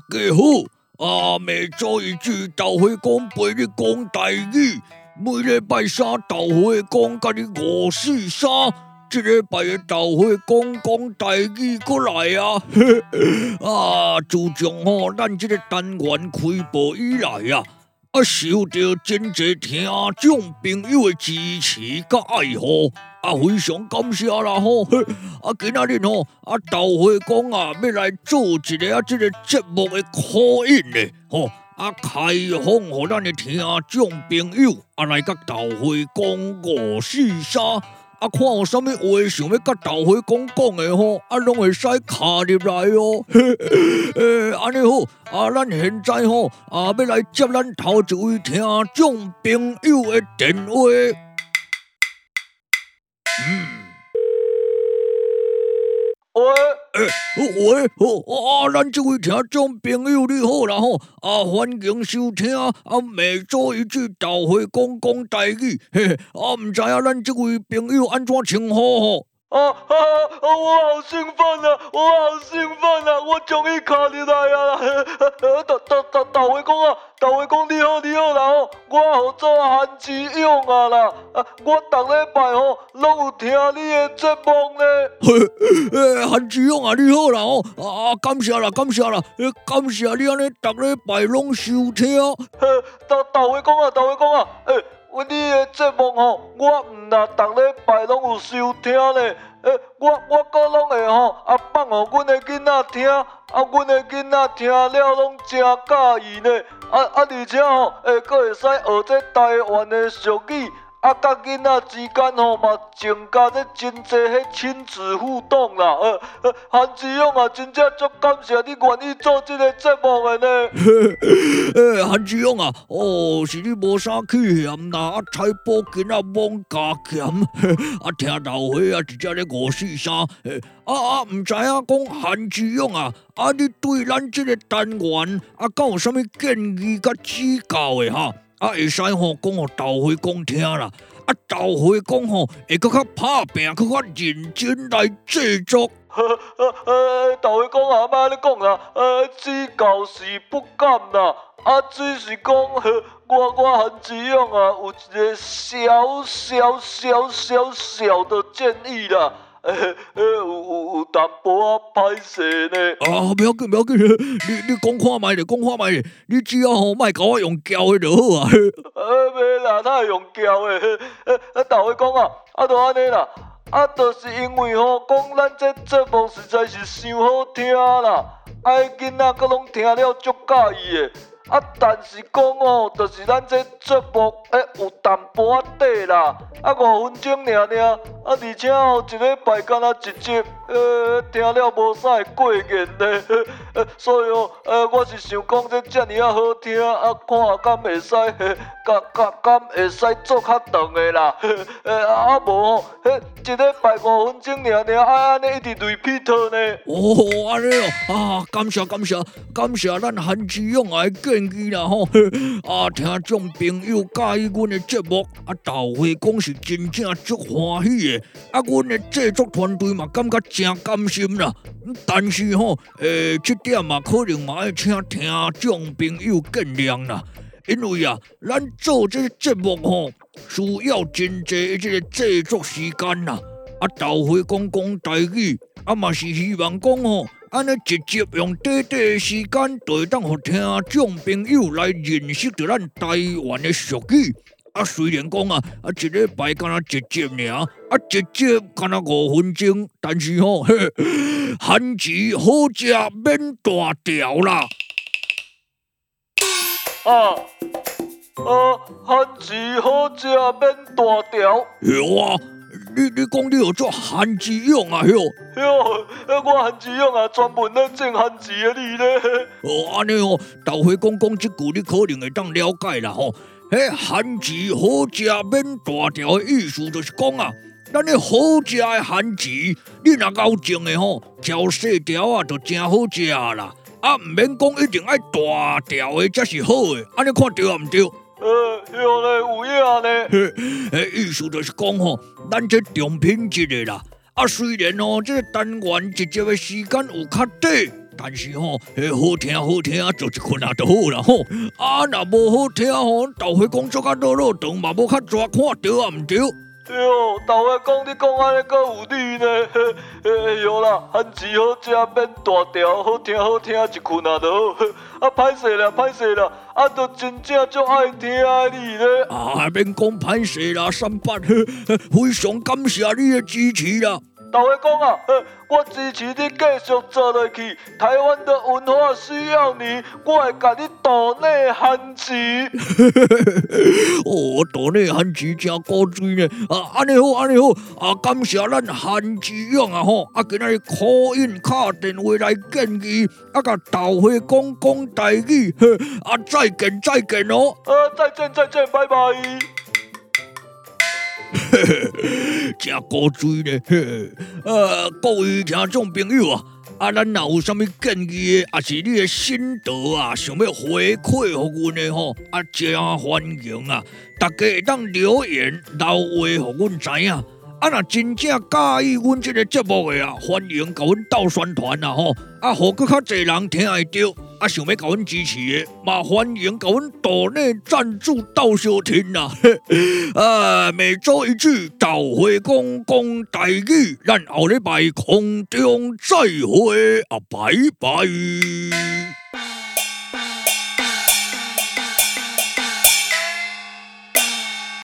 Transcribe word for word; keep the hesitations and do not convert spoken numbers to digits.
家好，啊，每周一句豆花講陪你講台語，每禮拜三豆花講甲你五四三，這禮拜的豆花講講台語過來啊！啊，自從吼咱這個單元開播以來啊，啊受到真儕聽眾朋友的支持甲愛護。啊，非常感謝啦吼！啊，今仔日吼，啊豆花講啊，要來做一個啊，這個節目的 call in 咧，吼啊，開放互咱的聽眾朋友啊來甲豆花講五四三，啊，看有啥物話想要甲豆花講講的吼，啊，攏會使卡入來哦。誒，安尼好，啊，咱現在吼啊，要來接咱頭一位聽眾朋友的電話。嗯，喂，誒，喂，好，啊，咱這位聽眾朋友你好啦吼，啊，歡迎收聽啊，每週一句豆花講講台語，嘿嘿，啊，唔知啊，咱這位朋友安怎稱呼吼？啊啊啊！我好興奮啊！我好興奮啊！我終於卡入來啊！豆豆豆豆花講啊，豆花講你好你好啦吼！我號做韓志勇啊啦！啊，我逐禮拜吼攏有聽你的節目呢。誒，韓志勇啊，你好啦吼！啊，感謝啦感謝啦！感謝你安尼逐禮拜攏收聽。豆豆花講啊，豆花講啊，誒。阮你的節目吼，我毋但逐禮拜攏有收聽咧，誒，我我閣攏會吼啊放互阮的囡仔聽，啊，阮的囡仔聽了攏真喜意呢，啊啊，而且吼，誒，閣會使學這台灣的俗語，啊，甲囡仔之間吼嘛增加這真濟迄親子互動啦，呃呃，韓志勇啊，真正足感謝你願意做這個節目的呢。誒，韓志勇啊，哦，是你無啥去嫌啦，啊，菜脯囡仔罔加鹹，啊，聽豆花啊，直接咧五四三，誒，啊啊，毋知影講韓志勇啊，啊，你對咱這個單元啊，敢有啥物建議甲指教的哈？啊，會使吼講互豆花講聽啦，啊，豆花講吼會閣較拍拼，閣較認真來製作。呃呃，豆花講啊，莫安尼講啦，呃，指教是不敢啦，啊，只是講，我我韓志勇啊，有一個小小小小小的建議啦。誒誒，有有有淡薄仔歹勢呢。啊，不要緊不要緊，你你講看覓咧，講看覓咧，你只要吼莫甲我用叫的就好啊。呃，袂啦，哪會用叫的？誒誒，豆花講啊，啊，就安尼啦，啊，就是因為吼，講咱這節目實在是傷好聽啦，啊，囡仔閣攏聽了足喜意的。啊，但是講哦，就是咱這節目誒有淡薄仔短啦，啊五分鐘爾爾，啊而且哦一禮拜敢若一集，呃聽了無啥會過癮呢，呃所以哦，呃我是想講這遮爾啊好聽，啊看下敢會使，敢敢敢會使做較長的啦，呃啊無吼，迄一禮拜五分鐘爾爾，啊安尼一直 repeat 呢。哦，安尼哦，啊感謝感謝感謝咱韓志勇啊建議啦吼，啊聽眾朋友喜歡阮的節目，啊豆花講是真正足歡喜的，啊阮的製作團隊嘛感覺真甘心啦。但是吼，誒，這點嘛可能嘛要請聽眾朋友見諒啦，因為啊，咱做這個節目吼，需要真濟這個製作時間啦。啊豆花講講台語，啊嘛是希望講吼。安尼一集用短短的時間，就會當互聽眾朋友來認識到咱台灣的俗語。啊，雖然講啊，啊一禮拜敢若一集爾，啊一集敢若五分鐘，但是吼、哦，韓字好食免大條啦。啊啊，韓字好食免大條。有啊。你你講你有做韓志勇啊？喲喲，我韓志勇啊，專門咧種韓字的你咧。哦，安尼哦，豆花講講這句，你可能會當了解啦吼。迄韓字好食免大條的意思就是講啊，咱咧好食的韓字，你若夠種的吼，挑細條啊，就真好食啦。啊，唔免講一定愛大條的才是好的，安尼看對啊唔對？呃，有咧，有影呢。誒，意思就是講吼，咱這重品質的啦。啊，雖然哦，這個單元一集的時間有較短， 但是吼，好聽好聽，做一困啊就好啦吼。啊，若無好聽吼，豆花講做甲落落長嘛，無較濟看到啊，毋對？ 哎呦，豆花講你講安尼閣有理呢？哎呦啦，番薯好食免大條，好聽好聽，一困啊就好。啊，歹勢啦歹勢啦，啊，都真正足愛聽你咧。 啊，免講歹勢啦，三八，非常感謝你的支持啦。 豆花講啊，我支持你繼續做落去。台灣的文化需要你，我會甲你島內番薯。 哦，島內番薯真古錐呢。啊，安尼好，安尼好。啊，感謝咱番薯養啊吼。啊，今仔日 call in 敲電話來建議，啊，甲豆花講講台語。啊，再見再見哦。 啊，再見再見，拜拜。 真古錐呢！呃，各位聽眾朋友啊，啊，咱若有啥物建議的，啊是你的心得啊，想要回饋互阮的吼，啊，真歡迎啊！大家會當留言留話互阮知影。啊，若真正介意阮這個節目的啊，歡迎甲阮鬥宣傳啊吼！啊，互閣較濟人聽會到。啊，想要甲阮支持的，嘛歡迎甲阮島內贊助鬥相聽啦！啊，每週一句豆花講講台語，咱後禮拜空中再會啊，拜拜。